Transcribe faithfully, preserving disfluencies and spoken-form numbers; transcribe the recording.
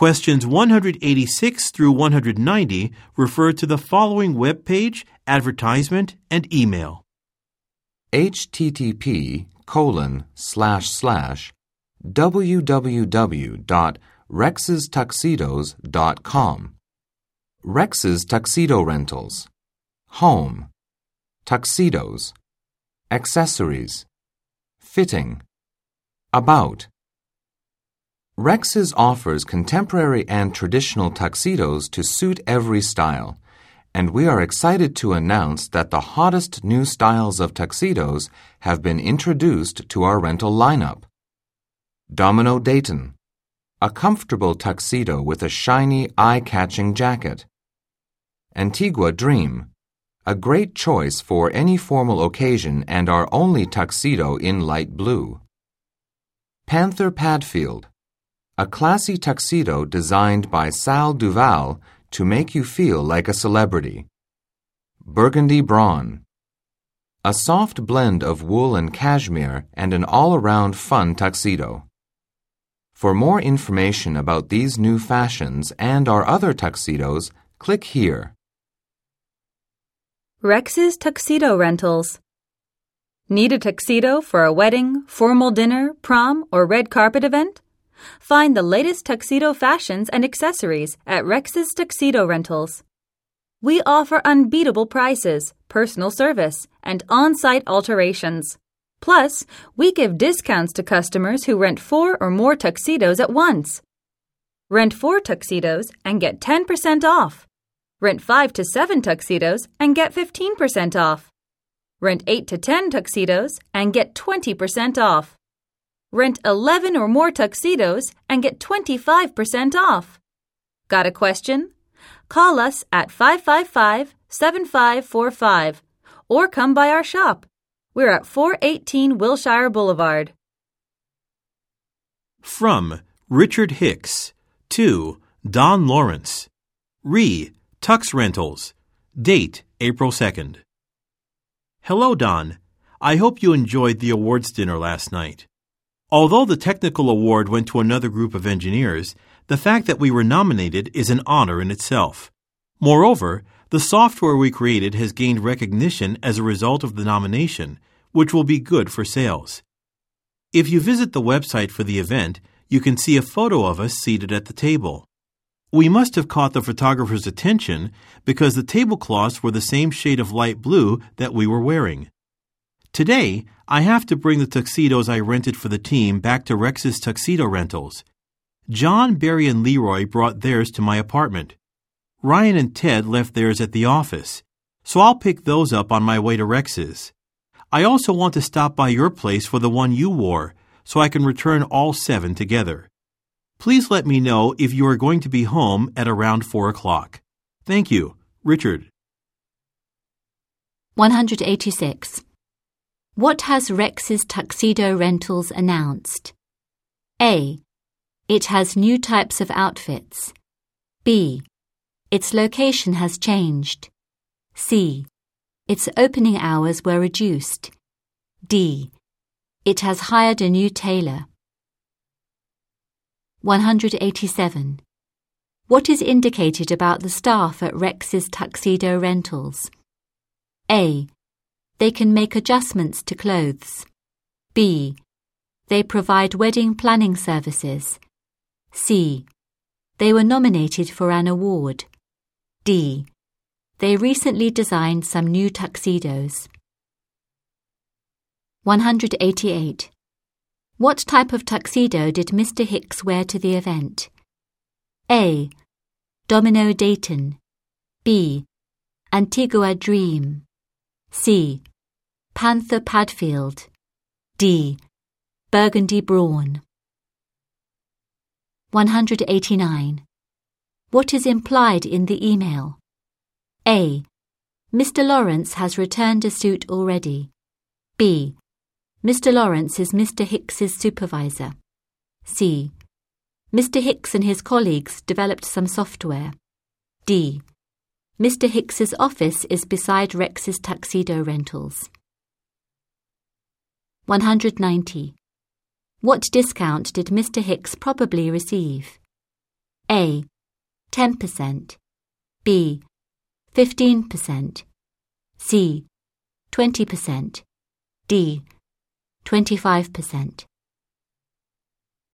Questions one hundred eighty-six through one hundred ninety refer to the following web page, advertisement, and email. http colon slash slash www dot rex's tuxedos dot com. Rex's Tuxedo Rentals. Home. Tuxedos. Accessories. Fitting. About. Rex's offers contemporary and traditional tuxedos to suit every style, and we are excited to announce that the hottest new styles of tuxedos have been introduced to our rental lineup. Domino Dayton, a comfortable tuxedo with a shiny, eye-catching jacket. Antigua Dream, a great choice for any formal occasion and our only tuxedo in light blue. Panther Padfield, a classy tuxedo designed by Sal Duval to make you feel like a celebrity. Burgundy Brawn, a soft blend of wool and cashmere and an all-around fun tuxedo. For more information about these new fashions and our other tuxedos, click here. Rex's Tuxedo Rentals. Need a tuxedo for a wedding, formal dinner, prom, or red carpet event? Find the latest tuxedo fashions and accessories at Rex's Tuxedo Rentals. We offer unbeatable prices, personal service, and on-site alterations. Plus, we give discounts to customers who rent four or more tuxedos at once. Rent four tuxedos and get ten percent off. Rent five to seven tuxedos and get fifteen percent off. Rent eight to ten tuxedos and get twenty percent off. Rent eleven or more tuxedos and get twenty-five percent off. Got a question? Call us at five five five, seven five four five or come by our shop. We're at four eighteen Wilshire Boulevard. From Richard Hicks to Don Lawrence. Re. Tux Rentals. Date April second. Hello, Don. I hope you enjoyed the awards dinner last night. Although the technical award went to another group of engineers, the fact that we were nominated is an honor in itself. Moreover, the software we created has gained recognition as a result of the nomination, which will be good for sales. If you visit the website for the event, you can see a photo of us seated at the table. We must have caught the photographer's attention because the tablecloths were the same shade of light blue that we were wearing. Today, I have to bring the tuxedos I rented for the team back to Rex's Tuxedo Rentals. John, Barry, and Leroy brought theirs to my apartment. Ryan and Ted left theirs at the office, so I'll pick those up on my way to Rex's. I also want to stop by your place for the one you wore, so I can return all seven together. Please let me know if you are going to be home at around four o'clock. Thank you. Richard. one hundred eighty-six. What has Rex's Tuxedo Rentals announced? A. It has new types of outfits. B. Its location has changed. C. Its opening hours were reduced. D. It has hired a new tailor. one hundred eighty-seven. What is indicated about the staff at Rex's Tuxedo Rentals? A. They can make adjustments to clothes. B. They provide wedding planning services. C. They were nominated for an award. D. They recently designed some new tuxedos. one hundred eighty-eight. What type of tuxedo did Mister Hicks wear to the event? A. Domino Dayton. B. Antigua Dream. C. Panther Padfield. D. Burgundy Brawn. one hundred eighty-nine. What is implied in the email? A. Mister Lawrence has returned a suit already. B. Mister Lawrence is Mister Hicks's supervisor. C. Mister Hicks and his colleagues developed some software. D. Mister Hicks's office is beside Rex's Tuxedo Rentals. one hundred ninety. What discount did Mister Hicks probably receive? A. ten percent, B. fifteen percent, C. twenty percent, D. twenty-five percent.